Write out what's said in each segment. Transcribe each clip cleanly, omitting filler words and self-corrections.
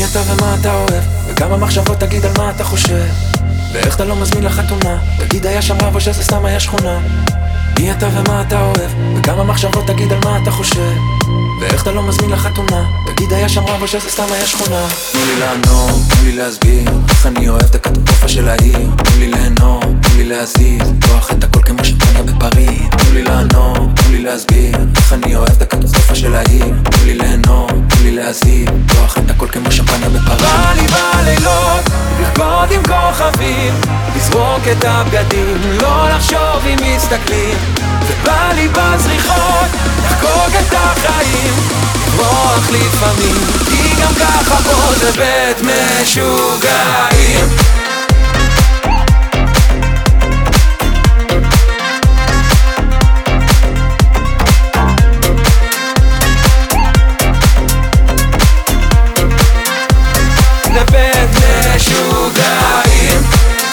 אתה ומה אתה אוהב, וכמה מחשבות תגיד על מה אתה חושב, ואיך אתה לא מזמין לחתונה, תגיד היה שם רב או שזה סתם היה שכונה. מי אתה ומה אתה אוהב, וכמה מחשבות תגיד על מה אתה חושב, ואיך אתה לא מזמין לחתונה, תגיד היה שם רב או שזה סתם היה שכונה. תנו לי לענות, תנו לי להסביר איך אני אוהב את הקטסטרופה של העיר. תנו לי ליהנות, תנו לי להזיז, לפתוח את הכל כמו שמפניה בפריז. תנו לי לענות, תנו לי להסביר איך אני אוהב את הקטסטרופה של העיר. תנו לי ליהנות, תנו לי להזיז, לפתוח את הכל כמו שמפניה בפריז. בא לי בלילות, לרקוד עם כוכבים, לזרוק את הבגדים, לא לחשוב אם מסתכלים. ובא לי בזריחות, לחגוג את החיים, לברוח לפעמים, כי גם ככה פה זה בית משוגעים. זה בית משוגעים.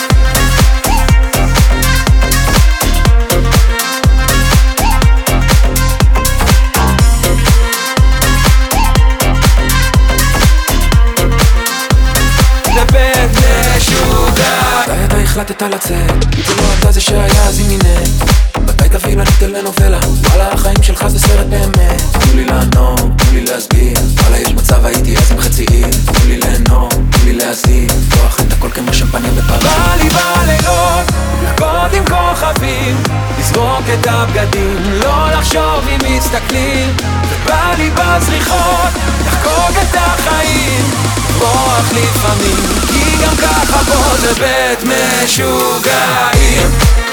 מתי אתה החלטת לצאת? אם זה לא אתה זה שהיה אז עם מינט. מתי תביא לנו טלנובלה? וואלה החיים שלך זה סרט באמת. תנו לי לענות, תנו לי להסביר, וואלה יש מצב הייתי אז עם חצי עיר. תנו לי ליהנות, תנו לי להזיז, לפתוח את הכל כמו שמפניה בפריז. בא לי בלילות, לרקוד עם כוכבים, לזרוק את הבגדים, לא לחשוב אם מסתכלים. ובא לי בזריחות, לחגוג את החיים, לברוח לפעמים, כי גם ככה פה זה בית משוגעים.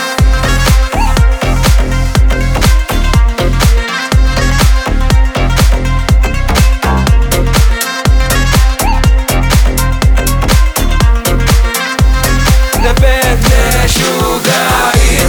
זה בית משוגעים.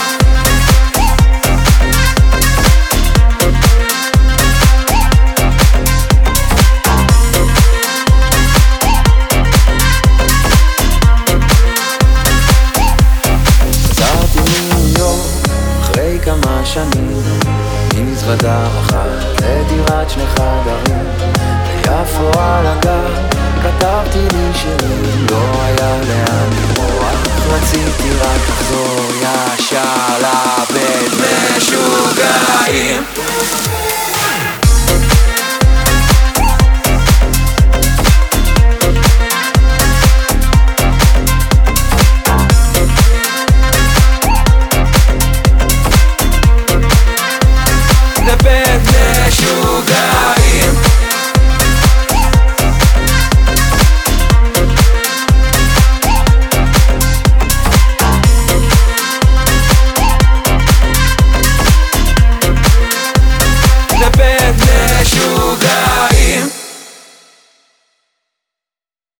כמה שנים מזוודה אחת לדירת שני חדרים ביפו על הגר, כתבתי לי שירים, לא היה לאן לברוח, רציתי רק לחזור ישר לבית משוגעים.